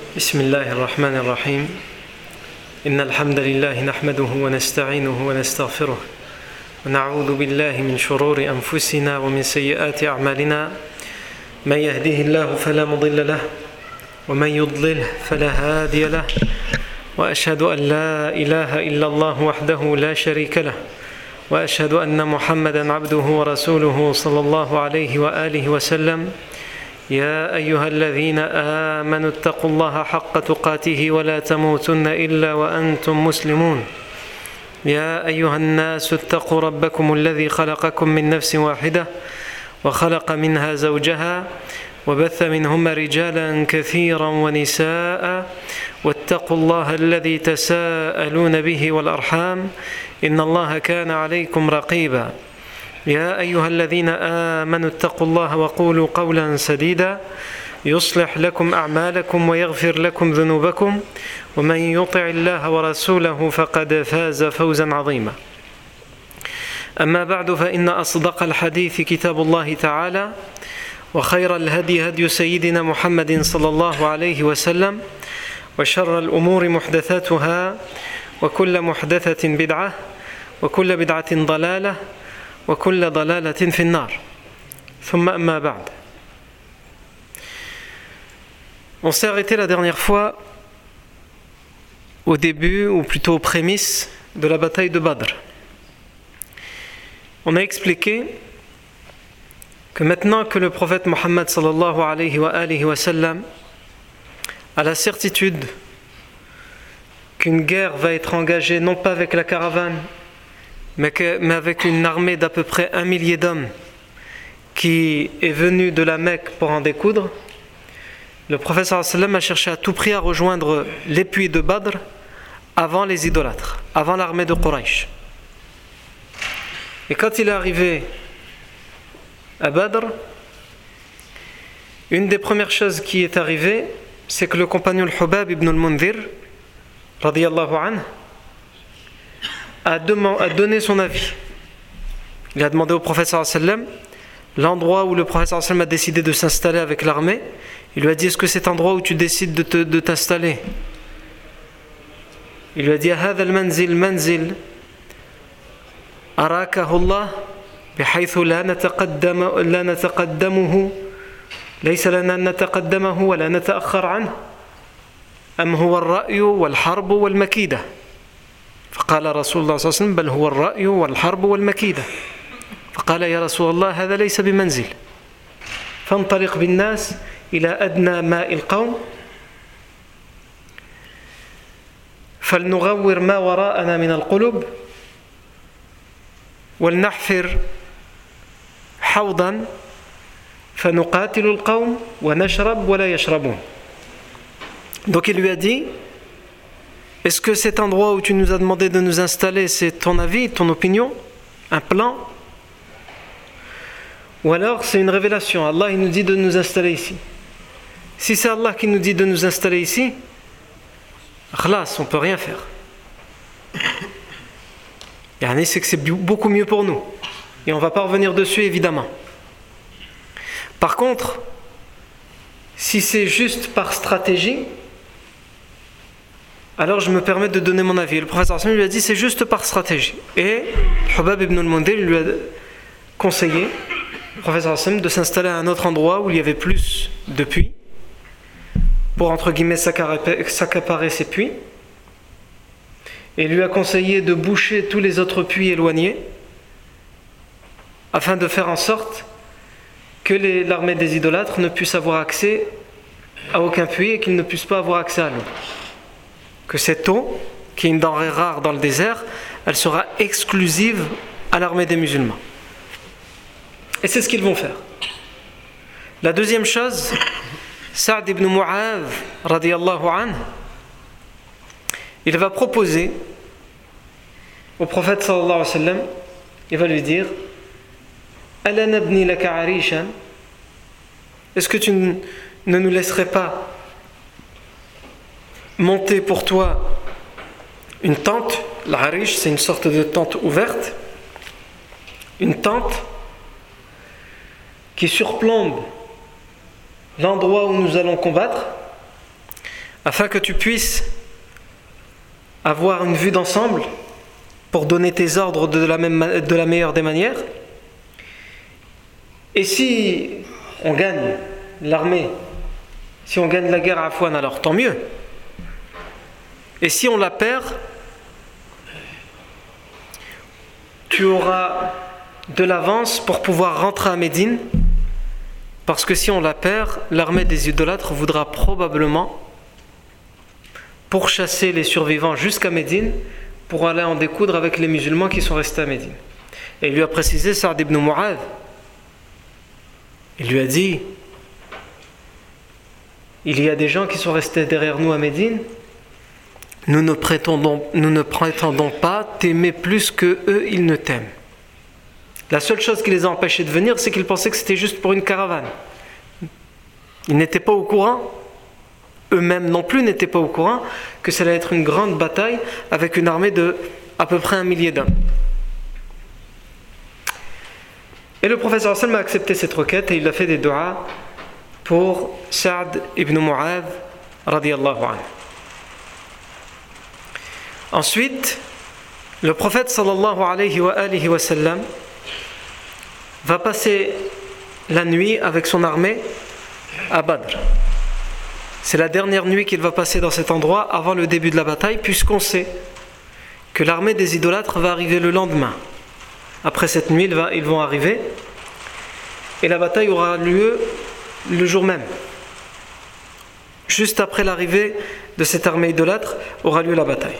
بسم الله الرحمن الرحيم إن الحمد لله نحمده ونستعينه ونستغفره ونعوذ بالله من شرور أنفسنا ومن سيئات أعمالنا من يهده الله فلا مضل له ومن يضلله فلا هادي له وأشهد أن لا إله إلا الله وحده لا شريك له وأشهد أن محمدا عبده ورسوله صلى الله عليه وآله وسلم يا أيها الذين آمنوا اتقوا الله حق تقاته ولا تموتن إلا وأنتم مسلمون يا أيها الناس اتقوا ربكم الذي خلقكم من نفس واحدة وخلق منها زوجها وبث منهما رجالا كثيرا ونساء واتقوا الله الذي تساءلون به والأرحام إن الله كان عليكم رقيبا يا أيها الذين آمنوا اتقوا الله وقولوا قولا سديدا يصلح لكم أعمالكم ويغفر لكم ذنوبكم ومن يطع الله ورسوله فقد فاز فوزا عظيما أما بعد فإن أصدق الحديث كتاب الله تعالى وخير الهدي هدي سيدنا محمد صلى الله عليه وسلم وشر الأمور محدثاتها وكل محدثة بدعة وكل بدعة ضلالة وكل ضلالة في النار ثم أما بعد. On s'est arrêté la dernière fois au début, ou plutôt aux prémices de la bataille de Badr. On a expliqué que maintenant que le prophète Mohammed sallallahu alayhi wa sallam a la certitude qu'une guerre va être engagée non pas avec la caravane mais avec une armée d'à peu près 1 millier d'hommes qui est venue de la Mecque pour en découdre, le prophète sallallahu alayhi wa sallam a cherché à tout prix à rejoindre les puits de Badr avant les idolâtres, avant l'armée de Quraysh. Et quand il est arrivé à Badr, une des premières choses qui est arrivée, c'est que le compagnon Hubab ibn al-Mundhir radiyallahu anhu a donné son avis. Il a demandé au prophète sallallahu alayhi wa sallam l'endroit où le prophète sallallahu alayhi wa sallam a décidé de s'installer avec l'armée. Il lui a dit: est-ce que cet endroit où tu décides de t'installer? Il lui a dit: هذا المنزل منزل أراكه الله بحيث لا نتقدمه ليس لنا أن نتقدمه ولا نتأخر عنه أم هو الرأي والحرب والمكيدة؟ فقال رسول الله صلى الله عليه وسلم: بل هو الرأي والحرب والمكيدة. فقال: يا رسول الله هذا ليس بمنزل، فانطلق بالناس إلى أدنى ماء القوم فلنغور ما وراءنا من القلوب ولنحفر حوضا فنقاتل القوم ونشرب ولا يشربون. Donc il lui a dit: est-ce que cet endroit où tu nous as demandé de nous installer, c'est ton avis, ton opinion, un plan? Ou alors c'est une révélation, Allah il nous dit de nous installer ici. Si c'est Allah qui nous dit de nous installer ici, khlas, on ne peut rien faire. Yani c'est que c'est beaucoup mieux pour nous. Et on ne va pas revenir dessus évidemment. Par contre, si c'est juste par stratégie, alors je me permets de donner mon avis. Le professeur Hassan lui a dit: c'est juste par stratégie. Et Hubab ibn al-Mundhir lui a conseillé, le professeur Hassan, de s'installer à un autre endroit où il y avait plus de puits, pour entre guillemets s'accaparer ces puits. Et lui a conseillé de boucher tous les autres puits éloignés, afin de faire en sorte que l'armée des idolâtres ne puisse avoir accès à aucun puits et qu'ils ne puissent pas avoir accès à l'eau. Que cette eau, qui est une denrée rare dans le désert, elle sera exclusive à l'armée des musulmans. Et c'est ce qu'ils vont faire. La deuxième chose, Sa'd ibn Mu'adh radiyallahu anhu, il va proposer au prophète sallallahu alayhi wa sallam, il va lui dire: Ala nabni laka arishan, est-ce que tu ne nous laisserais pas monter pour toi une tente? L'arish, c'est une sorte de tente ouverte, une tente qui surplombe l'endroit où nous allons combattre, afin que tu puisses avoir une vue d'ensemble pour donner tes ordres de la meilleure des manières. Et si on gagne l'armée, si on gagne la guerre à Afouane, alors tant mieux. Et si on la perd, tu auras de l'avance pour pouvoir rentrer à Médine, parce que si on la perd, l'armée des idolâtres voudra probablement pourchasser les survivants jusqu'à Médine pour aller en découdre avec les musulmans qui sont restés à Médine. Et il lui a précisé, Sa'd ibn Mu'adh, il lui a dit, il y a des gens qui sont restés derrière nous à Médine, nous ne prétendons pas t'aimer plus que eux, ils ne t'aiment. La seule chose qui les a empêchés de venir, c'est qu'ils pensaient que c'était juste pour une caravane. Ils n'étaient pas au courant, eux-mêmes non plus n'étaient pas au courant, que ça allait être une grande bataille avec une armée de à peu près 1 millier d'hommes. Et le prophète sallallahu alayhi wa sallam a accepté cette requête et il a fait des du'as pour Sa'd ibn Mu'adh radiyallahu anhu. Ensuite, le prophète sallallahu alayhi wa sallam va passer la nuit avec son armée à Badr. C'est la dernière nuit qu'il va passer dans cet endroit avant le début de la bataille, puisqu'on sait que l'armée des idolâtres va arriver le lendemain. Après cette nuit, ils vont arriver et la bataille aura lieu le jour même. Juste après l'arrivée de cette armée idolâtre aura lieu la bataille.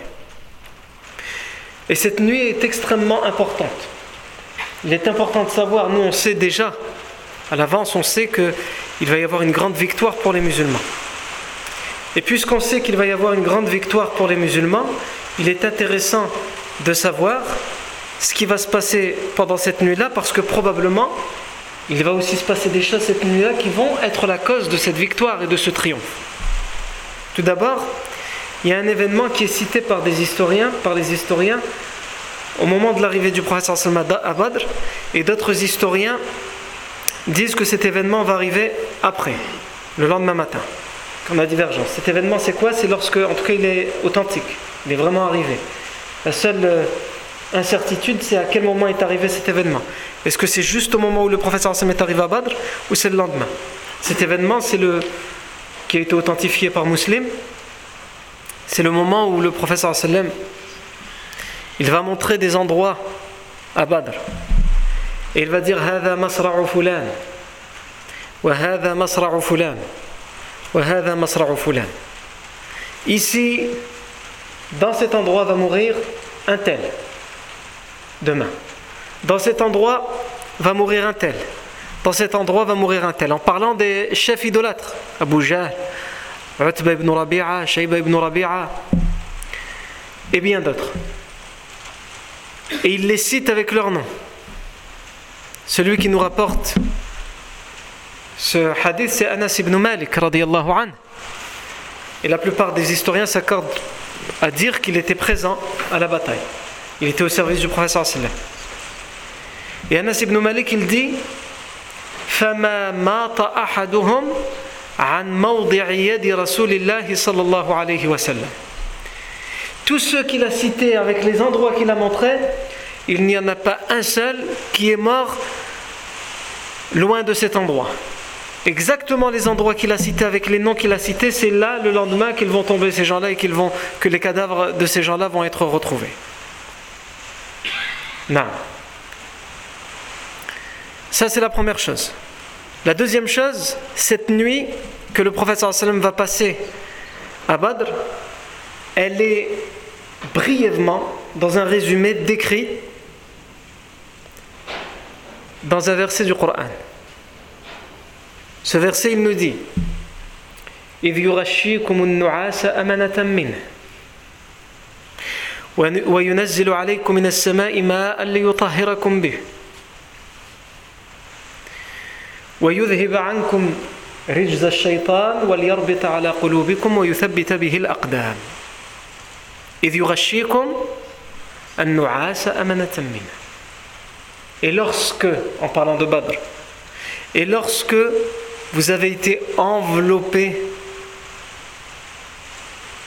Et cette nuit est extrêmement importante. Il est important de savoir, nous on sait déjà, à l'avance on sait qu'il va y avoir une grande victoire pour les musulmans. Et puisqu'on sait qu'il va y avoir une grande victoire pour les musulmans, il est intéressant de savoir ce qui va se passer pendant cette nuit-là, parce que probablement, il va aussi se passer des choses cette nuit-là qui vont être la cause de cette victoire et de ce triomphe. Tout d'abord, il y a un événement qui est cité par les historiens, au moment de l'arrivée du prophète sallallahu alayhi wa sallam à Badr, et d'autres historiens disent que cet événement va arriver après, le lendemain matin. On a divergence. Cet événement, c'est quoi? C'est lorsque, en tout cas, il est authentique, il est vraiment arrivé. La seule incertitude, c'est à quel moment est arrivé cet événement. Est-ce que c'est juste au moment où le prophète sallallahu alayhi wa sallam est arrivé à Badr, ou c'est le lendemain? Cet événement, c'est qui a été authentifié par Muslim. C'est le moment où le prophète sallallahu alayhi wa sallam, il va montrer des endroits à Badr. Et il va dire هذا مصرع فلان وهذا مصرع فلان وهذا مصرع فلان. Ici, dans cet endroit va mourir un tel demain. Dans cet endroit va mourir un tel. Dans cet endroit va mourir un tel. En parlant des chefs idolâtres, Abu Jahl, Utba ibn Rabi'a, Shayba ibn Rabi'a et bien d'autres. Et il les cite avec leur nom. Celui qui nous rapporte ce hadith, c'est Anas ibn Malik radiyallahu anhu. Et la plupart des historiens s'accordent à dire qu'il était présent à la bataille. Il était au service du prophète sallallahu alayhi wa sallam. Et Anas ibn Malik, il dit فَمَا مَاتَ أَحَدُهُمْ عَنْ مَوْضِعِ يَدِ رَسُولِ اللَّهِ صَلَّى اللَّهُ عَلَيْهِ وَسَلَّمَ. Tous ceux qu'il a cités avec les endroits qu'il a montrés, il n'y en a pas un seul qui est mort loin de cet endroit. Exactement les endroits qu'il a cités avec les noms qu'il a cités, c'est là le lendemain qu'ils vont tomber ces gens-là et que les cadavres de ces gens-là vont être retrouvés. Non. Ça, c'est la première chose. La deuxième chose, cette nuit que le prophète sallallahu alayhi wa sallam va passer à Badr, elle est brièvement, dans un résumé, décrit dans un verset du Coran. Ce verset, il nous dit إِذْ يُغَشِّيكُمُ النُّعَاسَ أَمَنَةً مِّنْهُ وَيُنَزِّلُ عَلَيْكُم مِّنَ السَّمَاءِ مَاءً لِيُطَهِّرَكُم بِهِ وَيُذْهِبَ عَنكُم رِجْزَ الشَّيْطَانِ وَلْيَرْبِطَ عَلَى قُلُوبِكُمْ وَيُثَبِّتَ بِهِ الْأَقْدَامَ إِذْ يُغَشِّيكُمْ النُّعَاسَ أَمَنَةً مِّنْهُ. Et lorsque, en parlant de Badr, et lorsque vous avez été enveloppés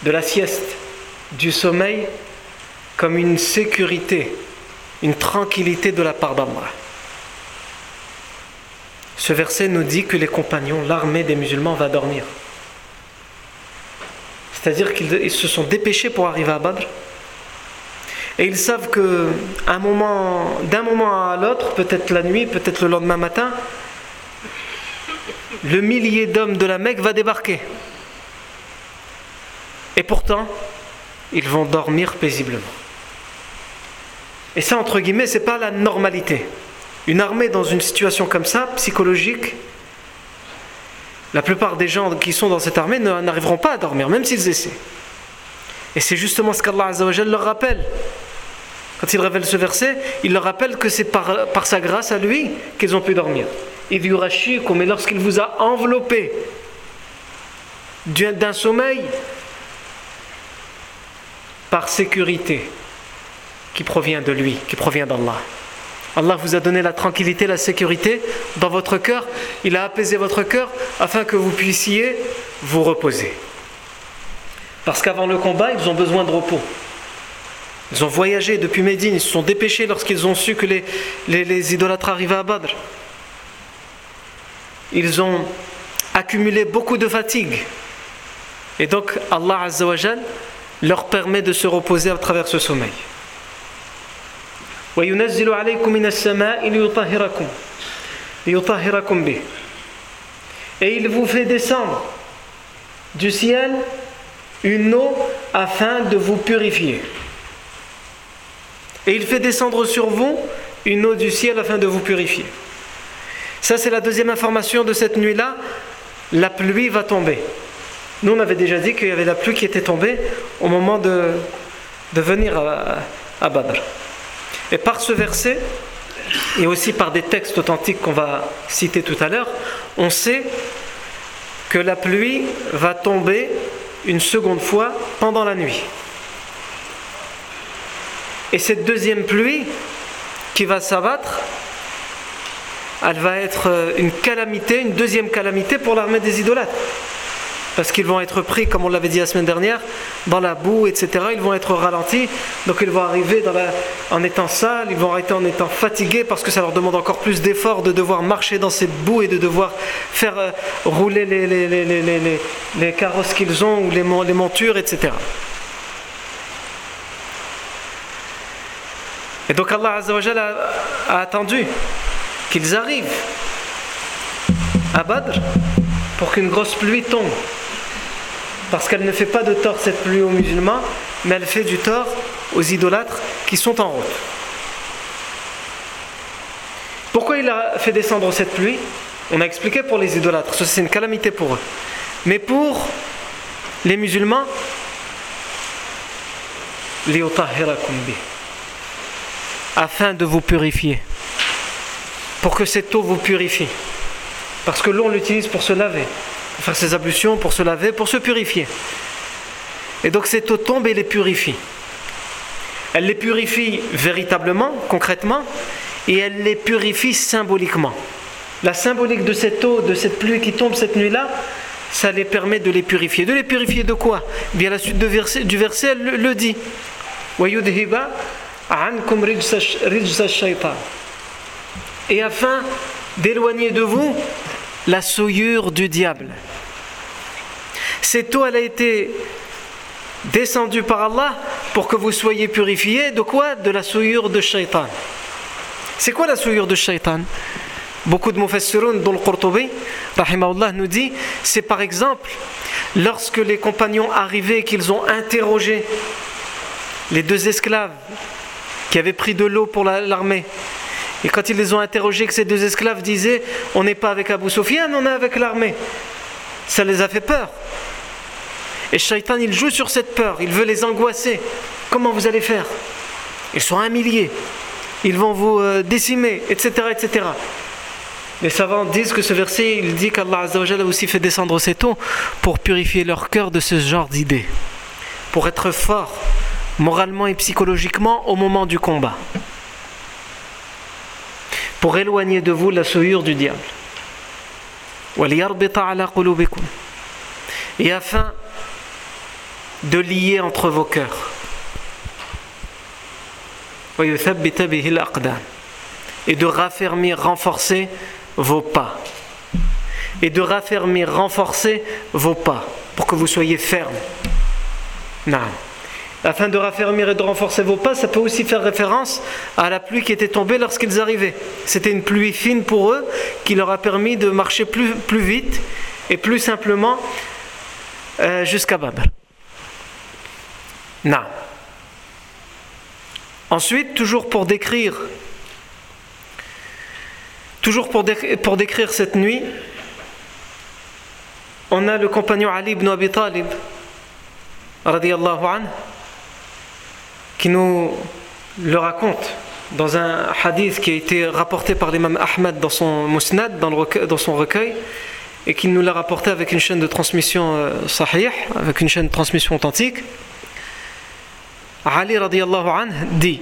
de la sieste, du sommeil, comme une sécurité, une tranquillité de la part d'Allah. Ce verset nous dit que les compagnons, l'armée des musulmans va dormir. C'est-à-dire qu'ils se sont dépêchés pour arriver à Badr. Et ils savent d'un moment à l'autre, peut-être la nuit, peut-être le lendemain matin, le millier d'hommes de la Mecque va débarquer. Et pourtant, ils vont dormir paisiblement. Et ça, entre guillemets, c'est pas la normalité. Une armée dans une situation comme ça, psychologique, la plupart des gens qui sont dans cette armée n'arriveront pas à dormir, même s'ils essaient. Et c'est justement ce qu'Allah Azza wa Jalla leur rappelle. Quand il révèle ce verset, il leur rappelle que c'est par sa grâce à lui qu'ils ont pu dormir. إِذْ يُغَشِّيكُمْ, mais lorsqu'il vous a enveloppé d'un sommeil par sécurité qui provient de lui, qui provient d'Allah. Allah vous a donné la tranquillité, la sécurité dans votre cœur. Il a apaisé votre cœur afin que vous puissiez vous reposer. Parce qu'avant le combat, ils ont besoin de repos. Ils ont voyagé depuis Médine, ils se sont dépêchés lorsqu'ils ont su que les idolâtres arrivaient à Badr. Ils ont accumulé beaucoup de fatigue. Et donc Allah Azza wa Jal leur permet de se reposer à travers ce sommeil. وَيُنَزِّلُ عَلَيْكُم مِّنَ السَّمَاءِ لِيُطَهِّرَكُم بِهِ. Et il vous fait descendre du ciel une eau afin de vous purifier. Et il fait descendre sur vous une eau du ciel afin de vous purifier. Ça, c'est la deuxième information de cette nuit-là. La pluie va tomber. Nous, on avait déjà dit qu'il y avait la pluie qui était tombée au moment de venir à Badr. Et par ce verset, et aussi par des textes authentiques qu'on va citer tout à l'heure, on sait que la pluie va tomber une seconde fois pendant la nuit. Et cette deuxième pluie qui va s'abattre, elle va être une calamité, une deuxième calamité pour l'armée des idolâtres. Parce qu'ils vont être pris, comme on l'avait dit la semaine dernière, dans la boue, etc. Ils vont être ralentis, donc ils vont arriver en étant sales, ils vont arrêter en étant fatigués, parce que ça leur demande encore plus d'efforts de devoir marcher dans cette boue et de devoir faire rouler les carrosses qu'ils ont, ou les montures, etc. Et donc Allah Azza wa Jalla a attendu qu'ils arrivent à Badr pour qu'une grosse pluie tombe. Parce qu'elle ne fait pas de tort, cette pluie, aux musulmans, mais elle fait du tort aux idolâtres qui sont en route. Pourquoi il a fait descendre cette pluie? On a expliqué pour les idolâtres, ça c'est une calamité pour eux. Mais pour les musulmans, afin de vous purifier, pour que cette eau vous purifie. Parce que l'eau, on l'utilise pour se laver, pour faire ses ablutions, pour se laver, pour se purifier. Et donc cette eau tombe et les purifie. Elle les purifie véritablement, concrètement, et elle les purifie symboliquement. La symbolique de cette eau, de cette pluie qui tombe cette nuit-là, ça les permet de les purifier. De les purifier de quoi? Bien, la suite du verset, elle le dit. وَيُذْهِبَ عَنْكُمْ رِجْزَ الشَّيْطَانِ. Et afin d'éloigner de vous la souillure du diable. Cette eau, elle a été descendue par Allah pour que vous soyez purifiés de quoi? De la souillure de Shaitan. C'est quoi la souillure de Shaitan? Beaucoup de mufassiroun, dont le Qurtubi, rahimahullah, nous dit, c'est par exemple lorsque les compagnons arrivaient et qu'ils ont interrogé les deux esclaves qui avaient pris de l'eau pour l'armée. Et quand ils les ont interrogés, que ces deux esclaves disaient « On n'est pas avec Abu Sufyan, on est avec l'armée ». Ça les a fait peur. Et Shaitan, il joue sur cette peur, il veut les angoisser. Comment vous allez faire? Ils sont 1 millier, ils vont vous décimer, etc., etc. Les savants disent que ce verset, il dit qu'Allah Azza wa Jalla a aussi fait descendre cette eau pour purifier leur cœur de ce genre d'idées, pour être fort moralement et psychologiquement au moment du combat, pour éloigner de vous la souillure du diable. Et afin de lier entre vos cœurs. Et de raffermir, renforcer vos pas. Et de raffermir, renforcer vos pas pour que vous soyez fermes. Non. Afin de raffermir et de renforcer vos pas, ça peut aussi faire référence à la pluie qui était tombée lorsqu'ils arrivaient. C'était une pluie fine pour eux qui leur a permis de marcher plus vite et plus simplement jusqu'à Badr. Non. Ensuite, toujours pour décrire cette nuit, on a le compagnon Ali ibn Abi Talib radiyallahu anhu qui nous le raconte dans un hadith qui a été rapporté par l'imam Ahmad dans son Musnad, dans son recueil, et qui nous l'a rapporté avec une chaîne de transmission sahih, avec une chaîne de transmission authentique. Ali radiyallahu anhu dit: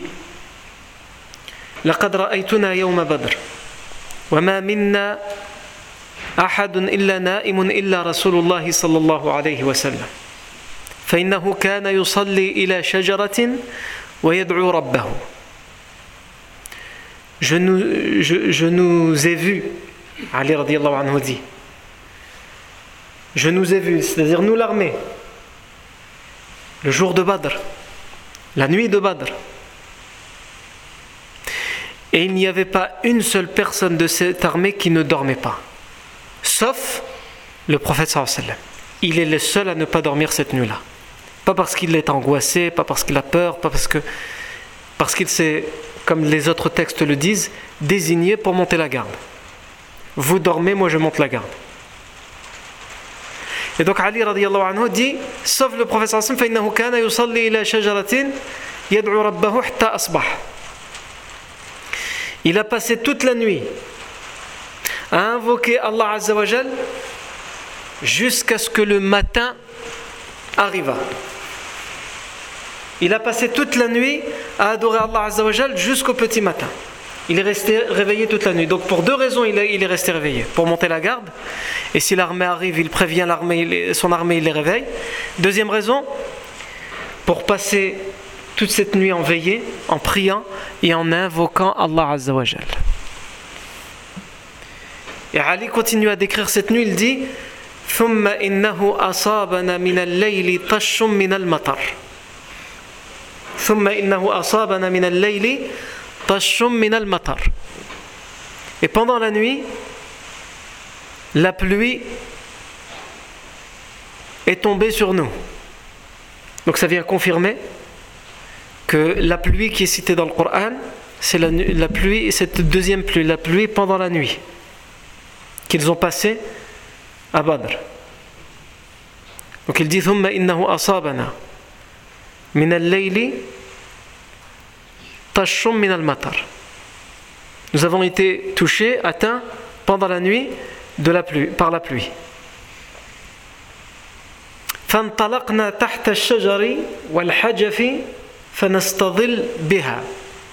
لقد رأيتنا يوم بدر وما منا أحد إلا نائم إلا رسول الله صلى الله عليه وسلم فإنه كان يصلي إلى شجرة ويدعو ربه. Je nous ai vus, Ali radiyallahu anhu dit, je nous ai vus, c'est-à-dire nous l'armée, le jour de Badr, la nuit de Badr. Et il n'y avait pas une seule personne de cette armée qui ne dormait pas, sauf le prophète sallallahu alayhi wa sallam. Il est le seul à ne pas dormir cette nuit-là. Pas parce qu'il est angoissé, pas parce qu'il a peur, pas parce qu'il s'est, comme les autres textes le disent, désigné pour monter la garde. Vous dormez, moi je monte la garde. Et donc Ali radiyallahu anhu dit, sauf le prophète sallallahu alayhi wa sallam, فَإِنَّهُ كَانَ يُصَلِّي إِلَى شَجَرَةٍ يَدْعُو رَبَّهُ حَتَّى أَصْبَحَ. Il a passé toute la nuit à invoquer Allah Azza wa Jal jusqu'à ce que le matin arriva. Il a passé toute la nuit à adorer Allah Azza wa Jal jusqu'au petit matin. Il est resté réveillé toute la nuit. Donc pour deux raisons il est resté réveillé. Pour monter la garde, et si l'armée arrive, il prévient son armée, il les réveille. Deuxième raison, pour passer toute cette nuit en veillée, en priant et en invoquant Allah Azza wa Jal. Et Ali continue à décrire cette nuit, il dit ثم إنه أصابنا من الليل طش من المطر ثم إنه أصابنا من الليل طش من المطر. Et pendant la nuit, la pluie est tombée sur nous. Donc ça vient confirmer que la pluie qui est citée dans le Coran, c'est la pluie, cette deuxième pluie, la pluie pendant la nuit qu'ils ont passée à Badr. Donc il dit ثم إنه أصابنا من الليل طش من المطر. Nous avons été touchés, atteints pendant la nuit par la pluie. فانطلقنا تحت الشجر والحجف فنستظل بها.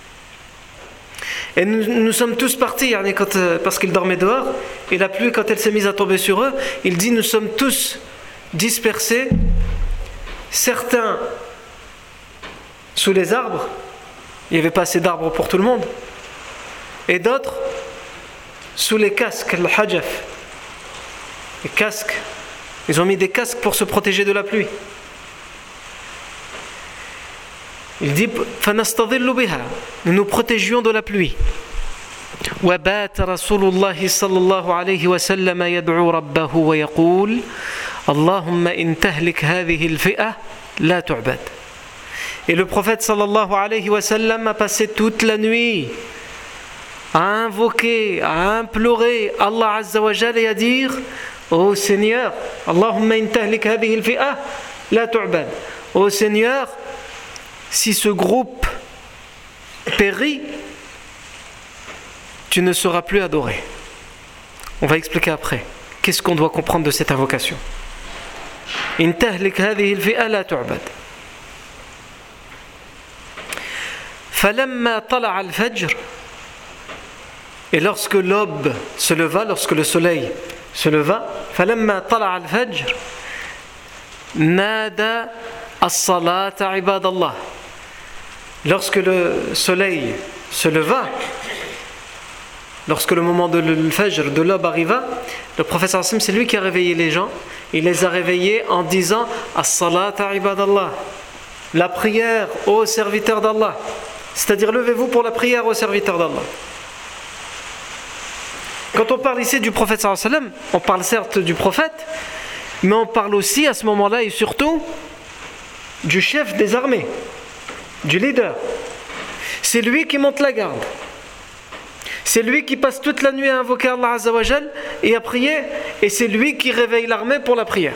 Et nous sommes tous partis parce qu'ils dormaient dehors, et la pluie, quand elle s'est mise à tomber sur eux, il dit nous sommes tous dispersés, certains sous les arbres, il n'y avait pas assez d'arbres pour tout le monde, et d'autres sous les casques, le hajaf, les casques. Ils ont mis des casques pour se protéger de la pluie. Il dit فَنَسْتَظِلُّ بِهَا. Nous nous protégions de la pluie. وَبَاتَ رَسُولُ اللَّهِ صَلَّى اللَّهُ عَلَيْهِ وَسَلَّمَ يَدْعُو رَبَّهُ وَيَقُولُ اللَّهُمَّ إِن تَهْلِكْ هَذِهِ الْفِئَةَ لَا تُعْبَدْ. Et le prophète sallallahu alayhi wa sallam a passé toute la nuit à invoquer, à implorer Allah Azza wa Jalla et à dire ô Seigneur, Allahumma in tahlik hadhihi al-fi'ah la tu'bad. Ô Seigneur, si ce groupe périt, tu ne seras plus adoré. On va expliquer après. Qu'est-ce qu'on doit comprendre de cette invocation? In tahlik hadhihi al-fi'ah la tu'bad. فَلَمَّا طَلَعَ الْفَجْرِ. Et lorsque l'aube se leva, lorsque le soleil se leva, فَلَمَّا طَلَعَ الْفَجْرِ نَادَى As-salata ibadallah. Lorsque le soleil se leva, lorsque le moment de l'Fajr, de l'aube arriva, le prophète sallallahu alayhi wa sallam, c'est lui qui a réveillé les gens. Il les a réveillés en disant As-salata ibadallah, la prière aux serviteurs d'Allah. C'est-à-dire, levez-vous pour la prière aux serviteurs d'Allah. Quand on parle ici du prophète sallallahu alayhi wa sallam, on parle certes du prophète, mais on parle aussi à ce moment-là et surtout du chef des armées, du leader. C'est lui qui monte la garde. C'est lui qui passe toute la nuit à invoquer Allah Azza wa Jal et à prier, et c'est lui qui réveille l'armée pour la prière.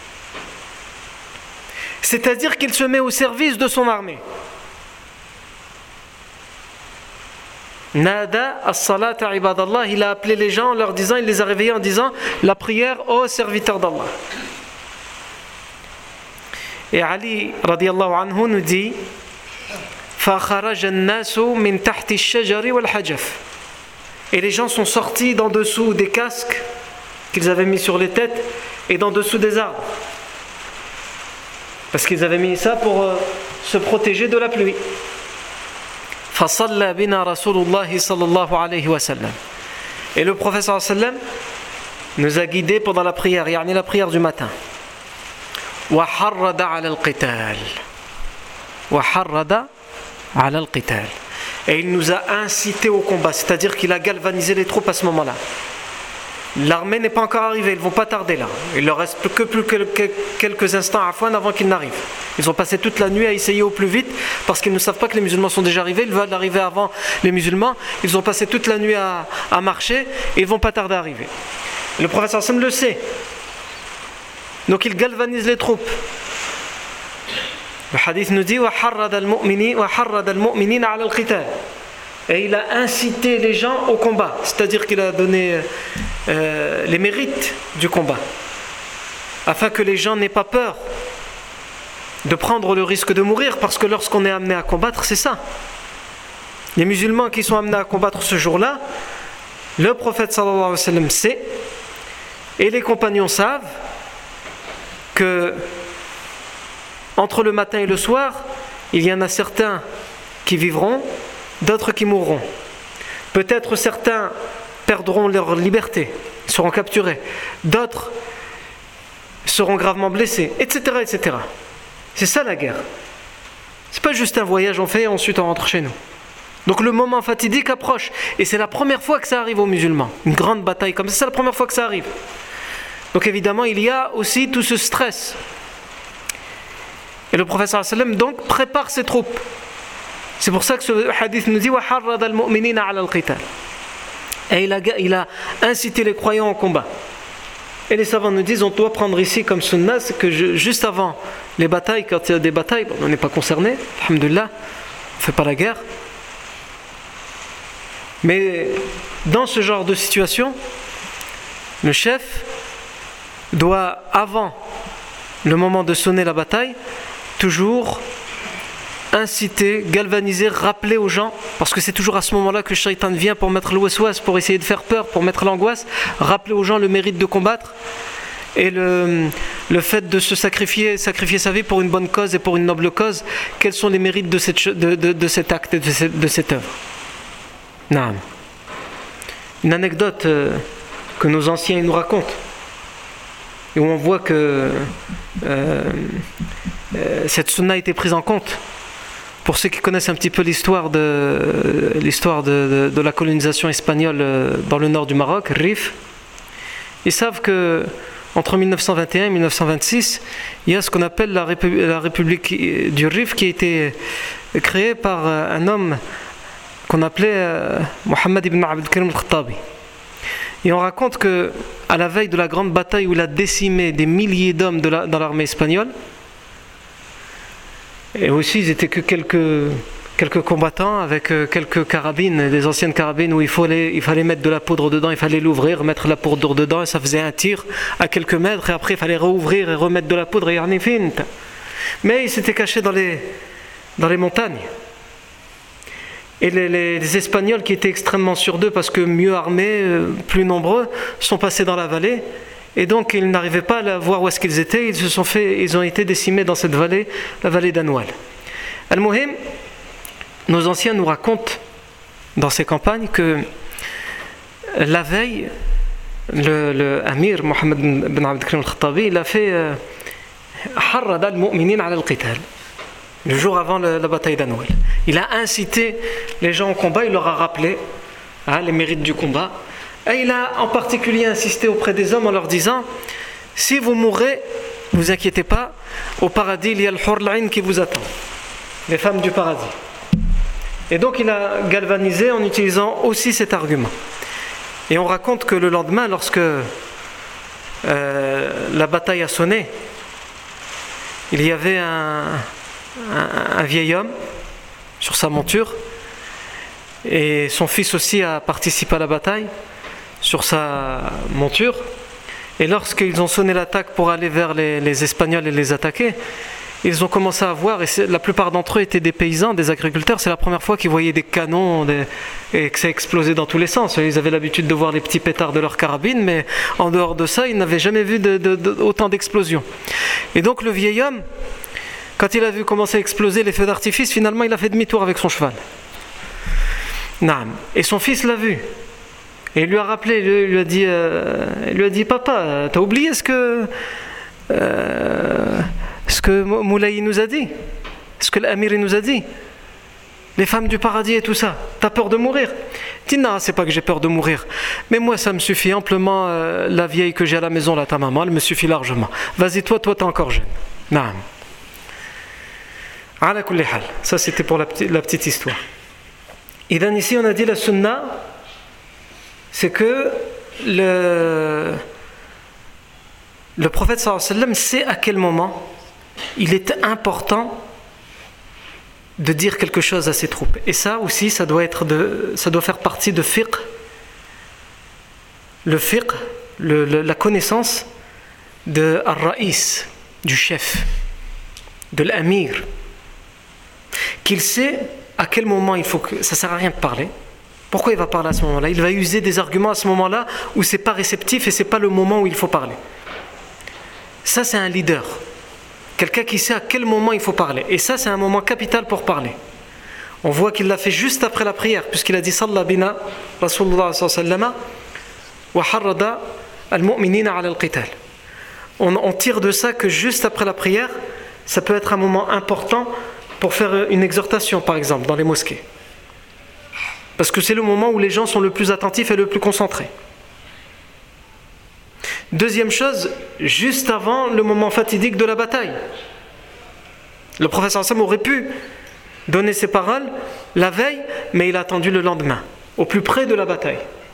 C'est-à-dire qu'il se met au service de son armée. Nada as-salata ibadallah, il a appelé les gens en leur disant, il les a réveillés en disant la prière aux serviteurs d'Allah. Et Ali radiyallahu anhu nous dit فَخَرَجَ النَّاسُ مِنْ تَحْتِ الشَّجَرِ وَالْحَجَفِ. Et les gens sont sortis d'en dessous des casques qu'ils avaient mis sur les têtes et d'en dessous des arbres. Parce qu'ils avaient mis ça pour se protéger de la pluie. فَصَلَّى بِنَا رَسُولُ اللَّهِ صَلَّى اللَّهُ عَلَيْهِ وَسَلَّمَ. Et le prophète sallallahu alayhi wa sallam nous a guidés pendant la prière, yani la prière du matin. وَحَرَّدَ عَلَى الْقِتَالِ. وَحَرَّدَ عَلَى الْقِتَالِ. Et il nous a incités au combat, c'est-à-dire qu'il a galvanisé les troupes à ce moment-là. L'armée n'est pas encore arrivée, ils ne vont pas tarder là. Il leur reste plus que quelques instants à Afouane avant qu'ils n'arrivent. Ils ont passé toute la nuit à essayer au plus vite parce qu'ils ne savent pas que les musulmans sont déjà arrivés, ils veulent arriver avant les musulmans. Ils ont passé toute la nuit à marcher et ils ne vont pas tarder à arriver. Le prophète sallallahu alayhi wa sallam le sait. Donc il galvanise les troupes. Le hadith nous dit وَحَرَّدَ الْمُؤْمِنِينَ عَلَى الْقِتَالِ. Et il a incité les gens au combat, c'est-à-dire qu'il a donné les mérites du combat, afin que les gens n'aient pas peur de prendre le risque de mourir, parce que lorsqu'on est amené à combattre, c'est ça. Les musulmans qui sont amenés à combattre ce jour-là, le prophète sallallahu alayhi wa sallam sait, et les compagnons savent, que entre le matin et le soir, il y en a certains qui vivront, d'autres qui mourront. Peut-être certains perdront leur liberté, seront capturés, d'autres seront gravement blessés, etc., etc. C'est ça la guerre. C'est pas juste un voyage on fait et ensuite on rentre chez nous. Donc le moment fatidique approche, et c'est la première fois que ça arrive aux musulmans. Une grande bataille comme ça, c'est la première fois que ça arrive. Donc évidemment il y a aussi tout ce stress. Et le prophète sallallahu alayhi wa sallam donc prépare ses troupes. C'est pour ça que ce hadith nous dit وَحَرَّدَ الْمُؤْمِنِينَ عَلَى الْقِتَالِ. Et il a incité les croyants au combat. Et les savants nous disent, on doit prendre ici comme sunna, c'est que juste avant les batailles, quand il y a des batailles, on n'est pas concerné, alhamdoulilah, on ne fait pas la guerre. Mais dans ce genre de situation, le chef doit, avant le moment de sonner la bataille, toujours inciter, galvaniser, rappeler aux gens, parce que c'est toujours à ce moment-là que le shaitan vient pour mettre le waswas, pour essayer de faire peur, pour mettre l'angoisse, rappeler aux gens le mérite de combattre et le fait de se sacrifier sa vie pour une bonne cause et pour une noble cause. Quels sont les mérites de cet acte, de cette œuvre? Naam. Une anecdote que nos anciens nous racontent, et où on voit que cette sunna a été prise en compte. Pour ceux qui connaissent un petit peu l'histoire de la colonisation espagnole dans le nord du Maroc, Rif, ils savent que entre 1921 et 1926, il y a ce qu'on appelle la République du Rif qui a été créée par un homme qu'on appelait Mohammed ibn Abdelkarim al-Khattabi. Et on raconte que à la veille de la grande bataille où il a décimé des milliers d'hommes dans l'armée espagnole, et aussi ils étaient que quelques combattants avec quelques carabines, des anciennes carabines où il fallait mettre de la poudre dedans, il fallait l'ouvrir, mettre la poudre dedans et ça faisait un tir à quelques mètres et après il fallait rouvrir et remettre de la poudre et yarni fint. Mais ils s'étaient cachés dans les montagnes. Et les Espagnols qui étaient extrêmement sûrs d'eux parce que mieux armés, plus nombreux, sont passés dans la vallée Et donc ils n'arrivaient pas à voir où est-ce qu'ils étaient. Ils ont été décimés dans cette vallée, la vallée d'Anwal. Al-Muhim, nos anciens nous racontent dans ces campagnes que la veille, le Amir Mohammed bin Abd al-Karim al-Khattabi, il a fait harrada al-mu'minin ala al-qital, le jour avant la bataille d'Anwal. Il a incité les gens au combat, il leur a rappelé les mérites du combat. Et il a en particulier insisté auprès des hommes en leur disant: si vous mourrez, ne vous inquiétez pas, au paradis il y a le hur al-ain qui vous attend, les femmes du paradis. Et donc il a galvanisé en utilisant aussi cet argument. Et on raconte que le lendemain, lorsque la bataille a sonné, il y avait un vieil homme sur sa monture, et son fils aussi a participé à la bataille sur sa monture. Et lorsqu'ils ont sonné l'attaque pour aller vers les Espagnols et les attaquer, ils ont commencé à voir, et la plupart d'entre eux étaient des paysans, des agriculteurs. C'est la première fois qu'ils voyaient des canons et que ça explosait dans tous les sens. Ils avaient l'habitude de voir les petits pétards de leur carabine, mais en dehors de ça, ils n'avaient jamais vu autant d'explosions. Et donc le vieil homme, quand il a vu commencer à exploser les feux d'artifice, finalement il a fait demi-tour avec son cheval. Naam. Et son fils l'a vu. Et il lui a rappelé, il lui a dit: papa, t'as oublié ce que Moulay nous a dit, ce que l'Amir nous a dit, les femmes du paradis et tout ça, t'as peur de mourir? Il dit: non, c'est pas que j'ai peur de mourir, mais moi ça me suffit amplement, la vieille que j'ai à la maison là, ta maman, elle me suffit largement. Vas-y, toi t'es encore jeune. Naam. Ala kulli hal. Ça c'était pour la petite histoire. Et bien ici on a dit la sunna, c'est que le prophète sallallahu alayhi wa sallam sait à quel moment il est important de dire quelque chose à ses troupes. Et ça aussi, ça doit faire partie de fiqh. Le fiqh, la connaissance de ar-ra'is, du chef, de l'amir, qu'il sait à quel moment il faut que... Ça ne sert à rien de parler. Pourquoi il va parler à ce moment-là? Il va user des arguments à ce moment-là où ce n'est pas réceptif et ce n'est pas le moment où il faut parler. Ça, c'est un leader. Quelqu'un qui sait à quel moment il faut parler. Et ça, c'est un moment capital pour parler. On voit qu'il l'a fait juste après la prière, puisqu'il a dit: Salla bina Rasulullah sallallahu alayhi wa sallam wa harrada al-mu'minina ala al-qital. On tire de ça que juste après la prière, ça peut être un moment important pour faire une exhortation, par exemple, dans les mosquées. Parce que c'est le moment où les gens sont le plus attentifs et le plus concentrés. Deuxième chose, juste avant le moment fatidique de la bataille. Le prophète sallallahu alayhi wa sallam aurait pu donner ses paroles la veille, mais il a attendu le lendemain, au plus près de la bataille.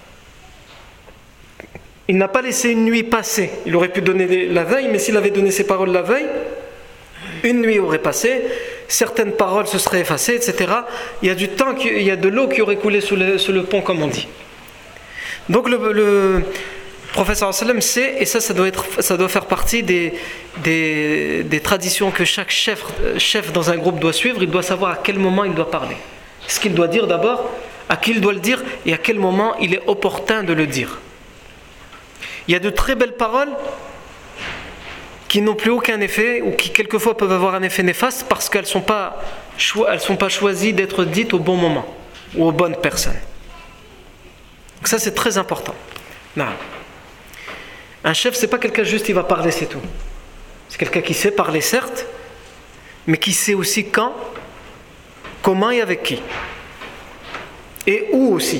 Il n'a pas laissé une nuit passer. Il aurait pu donner la veille, mais s'il avait donné ses paroles la veille, une nuit aurait passé, certaines paroles se seraient effacées, etc. Il y a du temps, il y a de l'eau qui aurait coulé sous le pont, comme on dit. Donc le prophète sallallahu alayhi wa sallam sait, et ça doit faire partie des traditions que chaque chef dans un groupe doit suivre. Il doit savoir à quel moment il doit parler. Ce qu'il doit dire d'abord, à qui il doit le dire, et à quel moment il est opportun de le dire. Il y a de très belles paroles qui n'ont plus aucun effet, ou qui quelquefois peuvent avoir un effet néfaste parce qu'elles ne sont pas choisies d'être dites au bon moment ou aux bonnes personnes. Donc ça, c'est très important. Non. Un chef, c'est pas quelqu'un juste qui va parler, c'est tout. C'est quelqu'un qui sait parler, certes, mais qui sait aussi quand, comment et avec qui. Et où aussi.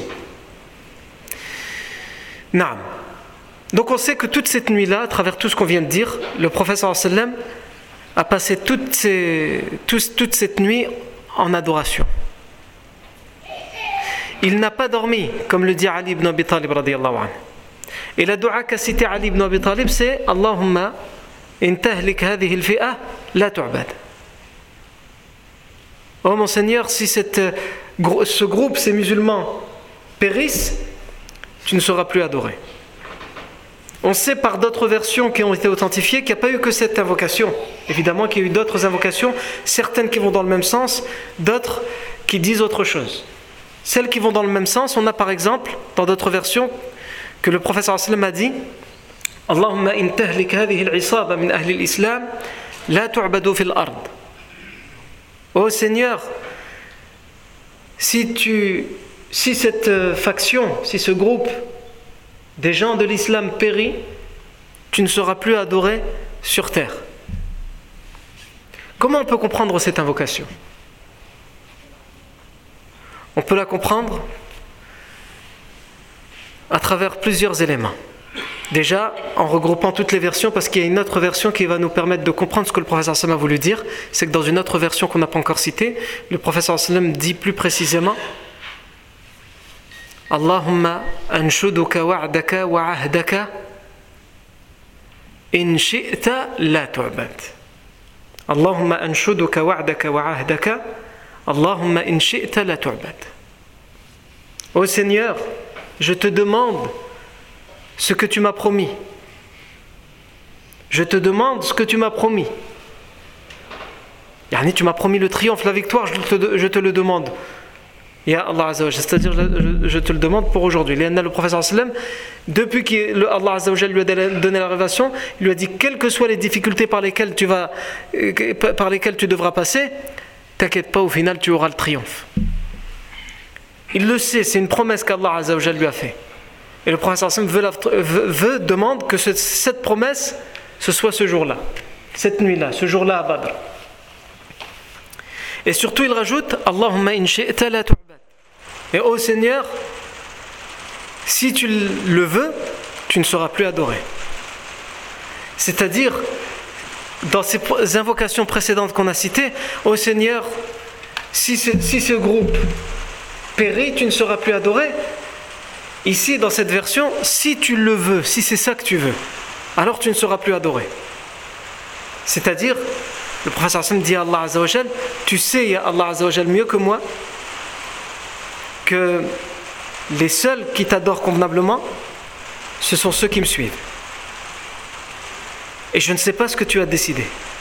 Naam. Donc on sait que toute cette nuit-là, à travers tout ce qu'on vient de dire, le prophète sallallahu alayhi wa sallam a passé toute cette nuit en adoration. Il n'a pas dormi, comme le dit Ali ibn Abi Talib radiyallahu anhu. Et la dua qu'a cité Ali ibn Abi Talib, c'est Allahumma in tahlik hadhihi al-fi'a la tu'bad. Oh mon Seigneur, si ce groupe, ces musulmans, périssent, tu ne seras plus adoré. On sait par d'autres versions qui ont été authentifiées qu'il n'y a pas eu que cette invocation. Évidemment qu'il y a eu d'autres invocations, certaines qui vont dans le même sens, d'autres qui disent autre chose. Celles qui vont dans le même sens, on a par exemple, dans d'autres versions, que le prophète sallallahu alayhi wa sallam a dit Allahumma in tahlik hadhihi al-isaba min ahli al-islam la tu'badu fil ard. Ô Seigneur, si cette faction, si ce groupe des gens de l'islam périt, tu ne seras plus adoré sur terre. Comment on peut comprendre cette invocation? On peut la comprendre à travers plusieurs éléments. Déjà, en regroupant toutes les versions, parce qu'il y a une autre version qui va nous permettre de comprendre ce que le prophète sallam a voulu dire. C'est que dans une autre version qu'on n'a pas encore citée, le prophète sallam dit plus précisément Allahumma anshuduka wa'daka wa ahdaka in shi'ta la tu'bad. Allahumma anshuduka wa'daka wa ahdaka Allahumma in shi'ta la tu'bad. Ô Seigneur, je te demande ce que tu m'as promis. Je te demande ce que tu m'as promis. Yani, tu m'as promis le triomphe, la victoire, je te le demande. Ya Allah Azza wa Jalla, c'est-à-dire je te le demande pour aujourd'hui. Le prophète sallam, depuis qu'Allah Azza wa Jalla lui a donné la révélation, il lui a dit quelles que soient les difficultés par lesquelles tu devras passer, t'inquiète pas, au final tu auras le triomphe. Il le sait, c'est une promesse qu'Allah Azza wa Jalla lui a fait. Et le prophète sallam demande que cette promesse, ce soit ce jour-là, cette nuit-là, ce jour-là à Badr. Et surtout il rajoute Allahumma in shi'ta la tu'bad. Et ô Seigneur, si tu le veux, tu ne seras plus adoré. C'est-à-dire, dans ces invocations précédentes qu'on a citées, ô Seigneur, si ce groupe périt, tu ne seras plus adoré. Ici, dans cette version, si tu le veux, si c'est ça que tu veux, alors tu ne seras plus adoré. C'est-à-dire, le prophète sallam dit à Allah Azza wa Jal, tu sais, ya Allah Azza wa Jal, mieux que moi, que les seuls qui t'adorent convenablement, ce sont ceux qui me suivent. Et je ne sais pas ce que tu as décidé.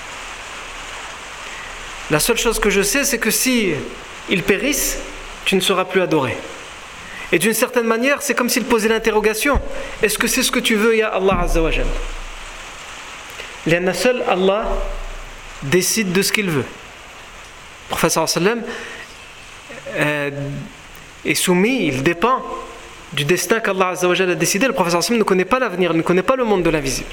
La seule chose que je sais, c'est que si ils périssent, tu ne seras plus adoré. Et d'une certaine manière, c'est comme s'il posait l'interrogation. Est-ce que c'est ce que tu veux, ya Allah Azza wa Jal? L'un seul Allah décide de ce qu'il veut. Le prophète sallam est soumis, il dépend du destin qu'Allah Azza wa Jal a décidé. Le prophète sallam ne connaît pas l'avenir, ne connaît pas le monde de l'invisible.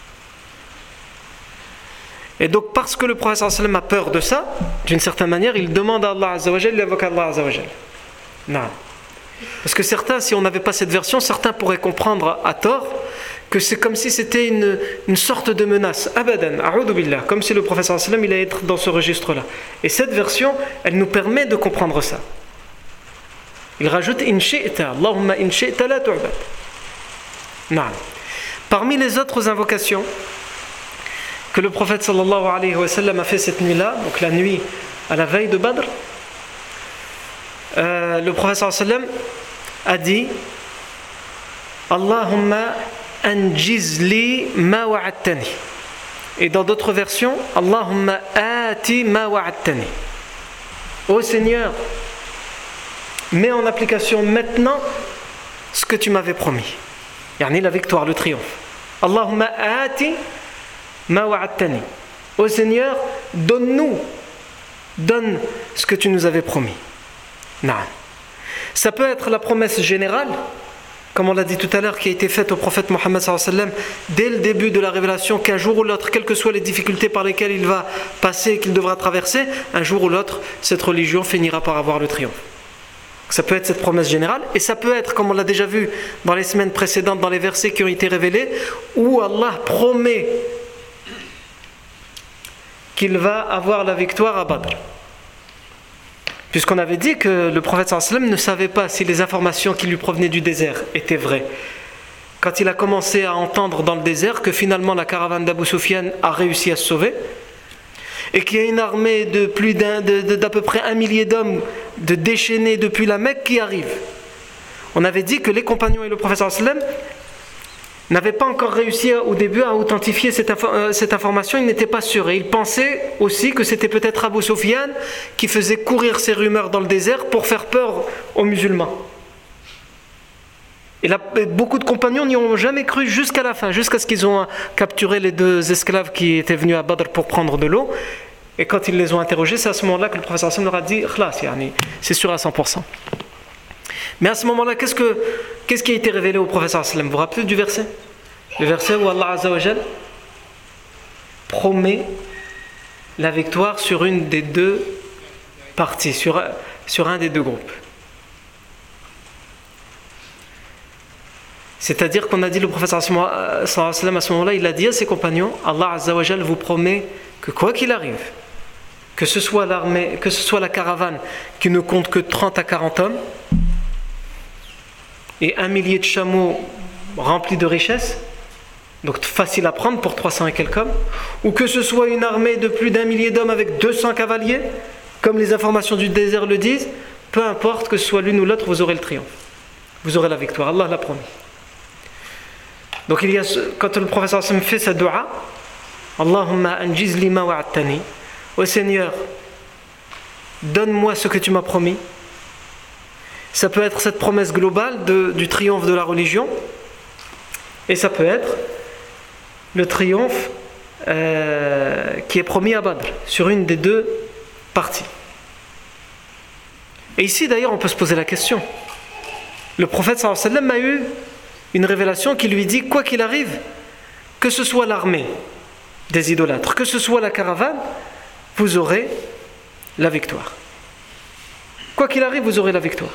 Et donc parce que le prophète sallam a peur de ça, d'une certaine manière, il demande à Allah Azza wa Jal, il invoque Allah Azza wa Jal. Non. Parce que certains, si on n'avait pas cette version, certains pourraient comprendre à tort que c'est comme si c'était une sorte de menace. Abadan, a'udhu billah, comme si le prophète sallallahu alayhi wa sallam il allait être dans ce registre-là. Et cette version, elle nous permet de comprendre ça. Il rajoute in shi'ta, Allahumma in shi'ta la tu'bad. Naam. Parmi les autres invocations que le prophète sallallahu alayhi wa sallam a fait cette nuit-là, donc la nuit à la veille de Badr, le prophète sallallahu alayhi wa sallam a dit Allahumma anjizli ma wa'adtani. Et dans d'autres versions, Allahumma ati ma wa'adtani. Ô Seigneur, mets en application maintenant ce que tu m'avais promis. Yani la victoire, le triomphe. Allahumma ati ma wa'adtani. Ô Seigneur, donne ce que tu nous avais promis. Non. Ça peut être la promesse générale, comme on l'a dit tout à l'heure, qui a été faite au prophète Mohammed sallallahu alayhi wa sallam dès le début de la révélation, qu'un jour ou l'autre, quelles que soient les difficultés par lesquelles il va passer et qu'il devra traverser, un jour ou l'autre, cette religion finira par avoir le triomphe. Ça peut être cette promesse générale, et ça peut être, comme on l'a déjà vu dans les semaines précédentes, dans les versets qui ont été révélés, où Allah promet qu'il va avoir la victoire à Badr. Puisqu'on avait dit que le prophète sallallahu alayhi wa sallam ne savait pas si les informations qui lui provenaient du désert étaient vraies. Quand il a commencé à entendre dans le désert que finalement la caravane d'Abu Sufyan a réussi à se sauver, et qu'il y a une armée d'à peu près 1 millier d'hommes de déchaînés depuis la Mecque qui arrive. On avait dit que les compagnons et le prophète sallallahu alayhi wa sallam n'avaient pas encore réussi au début à authentifier cette information, ils n'étaient pas sûrs. Et ils pensaient aussi que c'était peut-être Abu Sufyan qui faisait courir ces rumeurs dans le désert pour faire peur aux musulmans. Et beaucoup de compagnons n'y ont jamais cru jusqu'à la fin, jusqu'à ce qu'ils ont capturé les 2 esclaves qui étaient venus à Badr pour prendre de l'eau. Et quand ils les ont interrogés, c'est à ce moment-là que le prophète sallam leur a dit khlas, yani, c'est sûr à 100%. Mais à ce moment-là, qu'est-ce qui a été révélé au prophète sallam? Vous vous rappelez du verset? Le verset où Allah Azza wa Jal promet la victoire sur une des 2 parties, sur un des 2 groupes. C'est-à-dire qu'on a dit, le prophète sallallahu alayhi wa sallam, à ce moment-là, il a dit à ses compagnons, Allah Azza wa Jal vous promet que quoi qu'il arrive, que ce soit l'armée, que ce soit la caravane qui ne compte que 30 à 40 hommes et 1 millier de chameaux remplis de richesses, donc facile à prendre pour 300 et quelques hommes, ou que ce soit une armée de plus d'1 millier d'hommes avec 200 cavaliers, comme les informations du désert le disent, peu importe que ce soit l'une ou l'autre, vous aurez le triomphe, vous aurez la victoire, Allah l'a promis. Donc quand le prophète fait sa dua, Allahumma anjiz lima wa'adtani, ô Seigneur, donne-moi ce que tu m'as promis. Ça peut être cette promesse globale du triomphe de la religion, et ça peut être le triomphe qui est promis à Badr, sur une des 2 parties. Et ici d'ailleurs on peut se poser la question. Le prophète sallallahu alayhi wa sallam a eu une révélation qui lui dit, quoi qu'il arrive, que ce soit l'armée des idolâtres, que ce soit la caravane, vous aurez la victoire. Quoi qu'il arrive, vous aurez la victoire.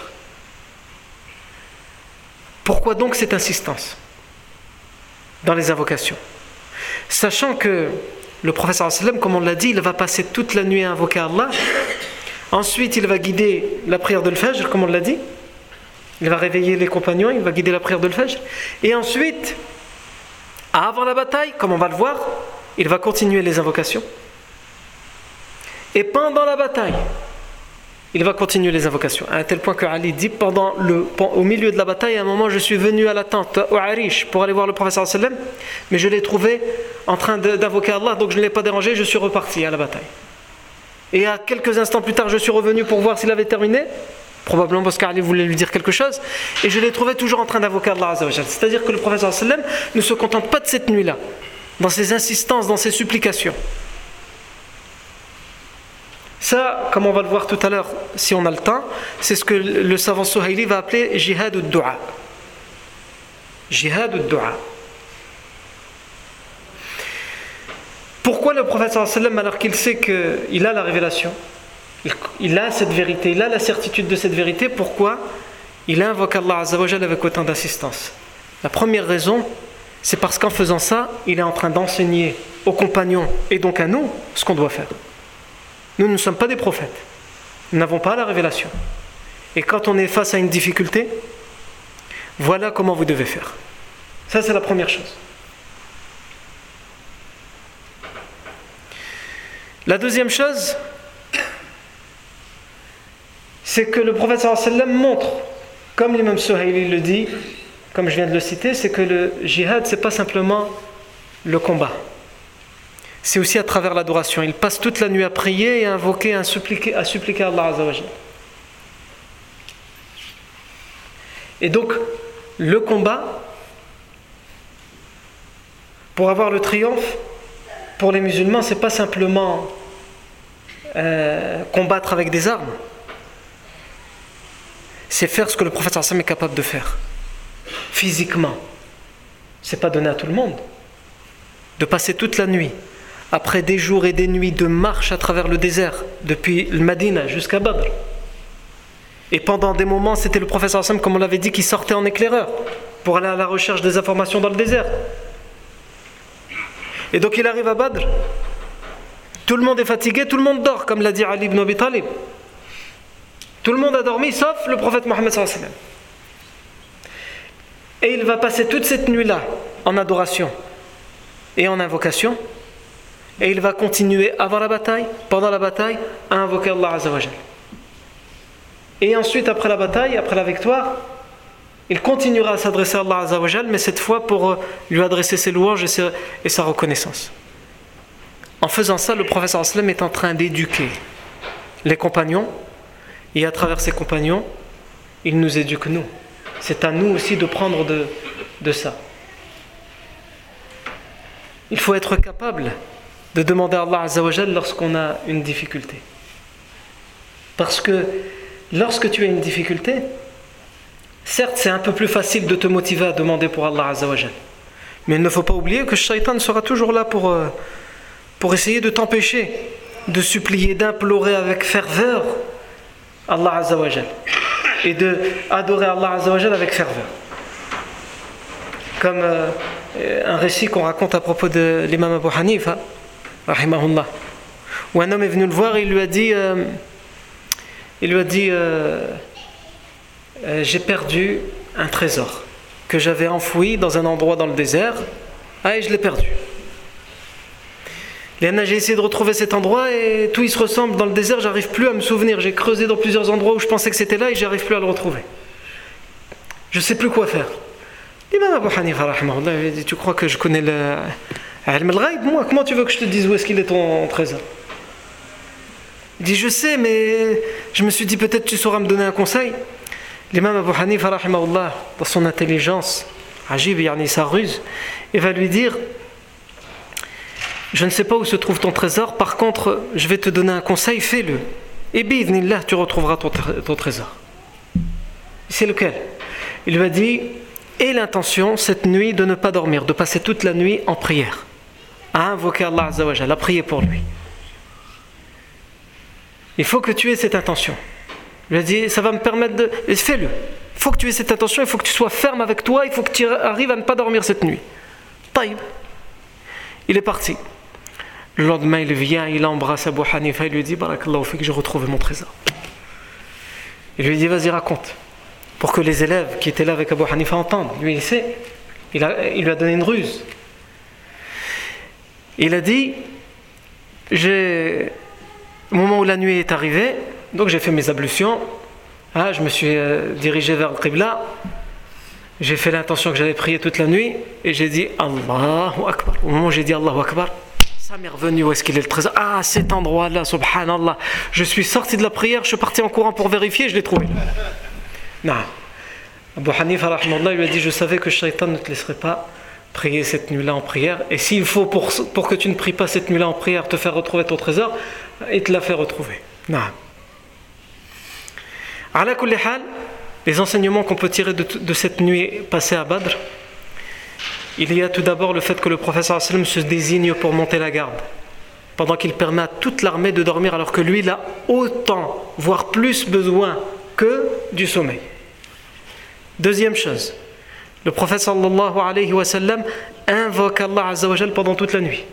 Pourquoi donc cette insistance dans les invocations? Sachant que le prophète sallallahu alayhi wa sallam, comme on l'a dit, il va passer toute la nuit à invoquer Allah. Ensuite, il va guider la prière de l'Fajr, comme on l'a dit. Il va réveiller les compagnons, il va guider la prière de l'Fajr. Et ensuite, avant la bataille, comme on va le voir, il va continuer les invocations. Et pendant la bataille, il va continuer les invocations. À un tel point que Ali dit, au milieu de la bataille, à un moment, je suis venu à la tente, au Arish, pour aller voir le prophète sallallahu alayhi wa sallam, mais je l'ai trouvé en train d'invoquer Allah, donc je ne l'ai pas dérangé, je suis reparti à la bataille. Et à quelques instants plus tard, je suis revenu pour voir s'il avait terminé, probablement parce qu'Ali voulait lui dire quelque chose, et je l'ai trouvé toujours en train d'invoquer Allah Azza wa Jal. C'est-à-dire que le prophète sallallahu alayhi wa sallam ne se contente pas de cette nuit-là, dans ses insistances, dans ses supplications. Ça, comme on va le voir tout à l'heure, si on a le temps, c'est ce que le savant Suhaili va appeler jihad ud-du'a. Jihad ud-du'a. Pourquoi le prophète sallallahu alayhi wa sallam, alors qu'il sait qu'il a la révélation, il a cette vérité, il a la certitude de cette vérité, pourquoi il invoque Allah Azza wa Jal avec autant d'insistance? La première raison, c'est parce qu'en faisant ça, il est en train d'enseigner aux compagnons et donc à nous ce qu'on doit faire. Nous ne sommes pas des prophètes, nous n'avons pas la révélation. Et quand on est face à une difficulté, voilà comment vous devez faire. Ça, c'est la première chose. La deuxième chose, c'est que le prophète sallallahu alayhi wa sallam montre, comme l'imam Suhaili le dit, comme je viens de le citer, c'est que le jihad, c'est pas simplement le combat. C'est aussi à travers l'adoration. Il passe toute la nuit à prier et à invoquer, à suppliquer Allah Azza wa Jal. Et donc, le combat, pour avoir le triomphe, pour les musulmans, c'est pas simplement combattre avec des armes. C'est faire ce que le prophète sallallahu alayhi wa sallam est capable de faire. Physiquement. C'est pas donné à tout le monde. De passer toute la nuit, après des jours et des nuits de marche à travers le désert, depuis le Madina jusqu'à Badr. Et pendant des moments, c'était le prophète sallallahu alayhi wa sallam, comme on l'avait dit, qui sortait en éclaireur pour aller à la recherche des informations dans le désert. Et donc il arrive à Badr. Tout le monde est fatigué, tout le monde dort, comme l'a dit Ali ibn Abi Talib. Tout le monde a dormi, sauf le prophète Mohammed sallallahu alayhi wa sallam. Et il va passer toute cette nuit-là en adoration et en invocation. Et il va continuer avant la bataille, pendant la bataille, à invoquer Allah Azza wa Jal. Et ensuite, après la bataille, après la victoire, il continuera à s'adresser à Allah Azza wa Jal, mais cette fois pour lui adresser ses louanges et sa reconnaissance. En faisant ça, le prophète sallallahu alayhi wa sallam est en train d'éduquer les compagnons, et à travers ses compagnons, il nous éduque nous. C'est à nous aussi de prendre de ça. Il faut être capable de demander à Allah Azza wa Jal lorsqu'on a une difficulté. Parce que lorsque tu as une difficulté, certes c'est un peu plus facile de te motiver à demander pour Allah Azza wa Jal. Mais il ne faut pas oublier que le shaitan sera toujours là pour essayer de t'empêcher de supplier, d'implorer avec ferveur Allah Azza wa Jal. Et de adorer Allah Azza wa Jal avec ferveur. Comme un récit qu'on raconte à propos de l'imam Abu Hanifa, rahimahullah, où un homme est venu le voir et il lui a dit j'ai perdu un trésor que j'avais enfoui dans un endroit dans le désert, et je l'ai perdu. J'ai essayé de retrouver cet endroit et tout il se ressemble dans le désert, j'arrive plus à me souvenir, j'ai creusé dans plusieurs endroits où je pensais que c'était là et j'arrive plus à le retrouver. Je sais plus quoi faire. L'imam Abu Hanifa rahimahullah, il dit, tu crois que je connais le ilm al-ghaib, moi, comment tu veux que je te dise où est-ce qu'il est ton trésor? Il dit, je sais, mais je me suis dit peut-être tu sauras me donner un conseil. L'imam Abu Hanifa rahimahullah, dans son intelligence, ajib, yani sa ruse, il va lui dire, je ne sais pas où se trouve ton trésor, par contre je vais te donner un conseil, fais-le, et bi'idhnillah tu retrouveras ton trésor. C'est lequel? Il lui a dit, aie l'intention cette nuit de ne pas dormir, de passer toute la nuit en prière, à invoquer Allah Azza wa Jalla, à prier pour lui. Il faut que tu aies cette intention. Il lui a dit, ça va me permettre de... Fais-le. Il faut que tu aies cette intention, il faut que tu sois ferme avec toi, il faut que tu arrives à ne pas dormir cette nuit. Taïb. Il est parti. Le lendemain, il vient, il embrasse Abu Hanifa, il lui dit, Barakallahu fik, j'ai retrouvé mon trésor. Il lui dit, vas-y, raconte. Pour que les élèves qui étaient là avec Abu Hanifa entendent. Lui, il sait. Il lui a donné une ruse. Il a dit, au moment où la nuit est arrivée, donc j'ai fait mes ablutions, je me suis dirigé vers le Qibla, j'ai fait l'intention que j'allais prier toute la nuit, et j'ai dit Allahu Akbar. Au moment où j'ai dit Allahu Akbar, ça m'est revenu, où est-ce qu'il est le trésor? Ah, cet endroit-là, subhanallah. Je suis sorti de la prière, je suis parti en courant pour vérifier, je l'ai trouvé. Non. Abu Hanifa rahimahullah lui a dit, je savais que le shaitan ne te laisserait pas prier cette nuit-là en prière, et s'il faut pour que tu ne pries pas cette nuit-là en prière te faire retrouver ton trésor, il te l'a fait retrouver. Non. Ala kulli hal, les enseignements qu'on peut tirer de cette nuit passée à Badr, il y a tout d'abord le fait que le prophète sallallahu alayhi wa sallam se désigne pour monter la garde, pendant qu'il permet à toute l'armée de dormir, alors que lui il a autant, voire plus besoin que du sommeil. Deuxième chose, le prophète sallallahu alayhi wa sallam invoque Allah Azza wa Jal pendant toute la nuit.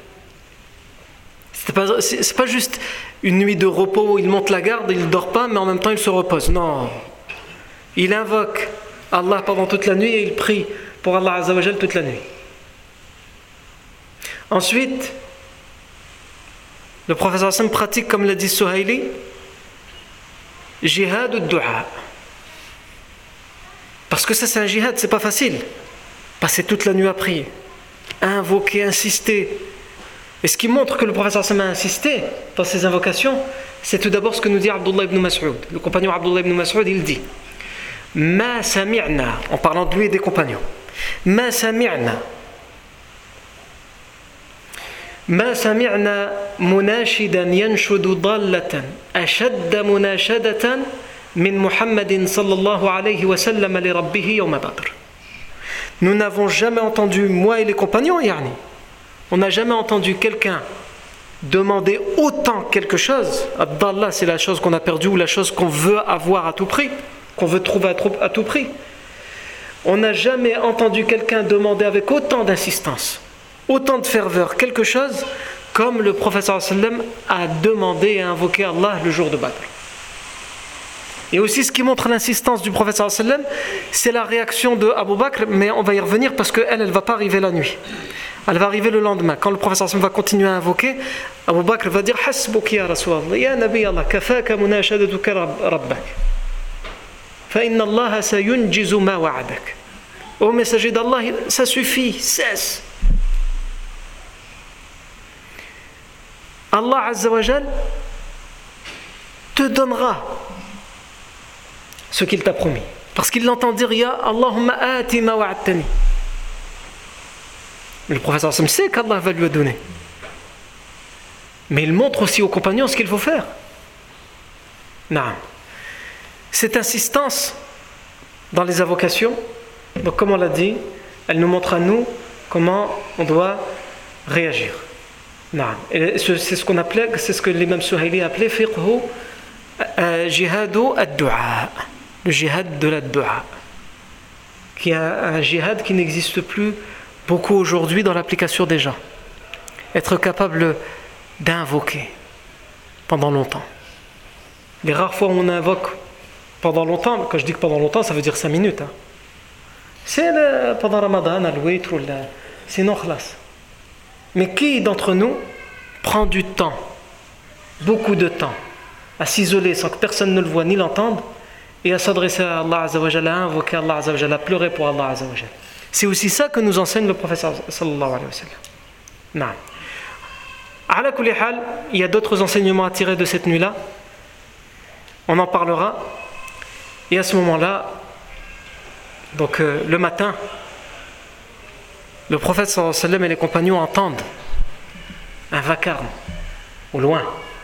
C'est pas juste une nuit de repos où il monte la garde, il ne dort pas, mais en même temps il se repose. Non. Il invoque Allah pendant toute la nuit et il prie pour Allah Azza wa Jal toute la nuit. Ensuite, le prophète sallallahu alayhi wa sallam pratique, comme l'a dit Suhaili, jihad ad-du'a. Parce que ça c'est un jihad, c'est pas facile. Passer toute la nuit à prier, invoquer, insister. Et ce qui montre que le prophète sallallahu alayhi wa sallam a insisté dans ses invocations, c'est tout d'abord ce que nous dit Abdullah ibn Mas'ud. Le compagnon Abdullah ibn Mas'ud, il dit Ma sami'na, en parlant de lui et des compagnons, Ma sami'na munashidan yanshudu dallatan ashadda munashadatan min Muhammadin sallallahu alayhi wa sallam li rabbihi yawma Badr. Nous n'avons jamais entendu, moi et les compagnons, yani, on n'a jamais entendu quelqu'un demander autant quelque chose. Ad-dalla, c'est la chose qu'on a perdue ou la chose qu'on veut avoir à tout prix, qu'on veut trouver à tout prix. On n'a jamais entendu quelqu'un demander avec autant d'insistance, autant de ferveur quelque chose comme le prophète sallallahu alayhi wa sallam a demandé et invoqué Allah le jour de Badr. Et aussi ce qui montre l'insistance du prophète sallallahu alayhi wa sallam, c'est la réaction de Abu Bakr, mais on va y revenir parce qu'elle ne va pas arriver la nuit. Elle va arriver le lendemain. Quand le prophète sallallahu alayhi wa sallam va continuer à invoquer, Abu Bakr va dire Hasbuki ya Rasulallah, ya Nabi Allah, kafaka munashadatuka rabbak. Fa inna Allah sayunjizu ma wa'adak. Ô messager d'Allah, ça suffit, cesse. Allah Azza wa Jal te donnera ce qu'il t'a promis. Parce qu'il l'entend dire Ya Allahumma ati ma wa'adtani. Le prophète sait qu'Allah va lui donner. Mais il montre aussi aux compagnons ce qu'il faut faire. Naam. Cette insistance dans les invocations, donc comme on l'a dit, elle nous montre à nous comment on doit réagir. Naam. Et c'est ce qu'on appelait, c'est ce que l'imam Suhaili appelait fiqhu jihadu ad-du'a, le jihad de la du'a, qui est un jihad qui n'existe plus beaucoup aujourd'hui dans l'application des gens. Être capable d'invoquer pendant longtemps. Les rares fois où on invoque pendant longtemps, quand je dis que pendant longtemps, ça veut dire 5 minutes. Hein. C'est pendant Ramadan, al-witr, sinon khlas. Mais qui d'entre nous prend du temps, beaucoup de temps, à s'isoler sans que personne ne le voie ni l'entende, et à s'adresser à Allah Azza wa Jalla, à invoquer Allah Azza wa Jalla, à pleurer pour Allah Azza wa Jalla. C'est aussi ça que nous enseigne le prophète sallallahu alayhi wa sallam. Naam. Ala kulli hal, il y a d'autres enseignements à tirer de cette nuit-là. On en parlera. Et à ce moment-là, donc le matin, le prophète sallallahu alayhi wa sallam et les compagnons entendent un vacarme au loin,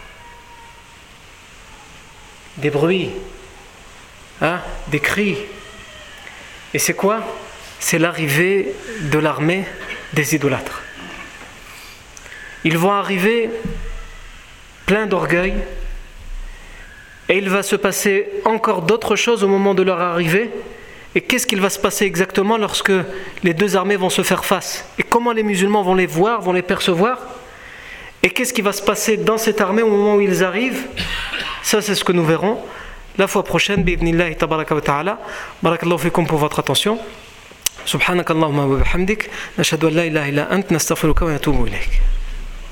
des bruits, des cris. Et c'est quoi? C'est l'arrivée de l'armée des idolâtres. Ils vont arriver pleins d'orgueil, et il va se passer encore d'autres choses au moment de leur arrivée. Et qu'est-ce qu'il va se passer exactement lorsque les deux armées vont se faire face? Et comment les musulmans vont les voir, vont les percevoir? Et qu'est-ce qui va se passer dans cette armée au moment où ils arrivent? Ça, c'est ce que nous verrons la fois prochaine. Bi'idhnillahi tabaraka wa ta'ala. Barakallahu fikum pour votre attention. Subhanakallahumma wa bihamdik. Nashhadu an la ilaha illa ant. Nastaghfiruka wa natubu ilayk.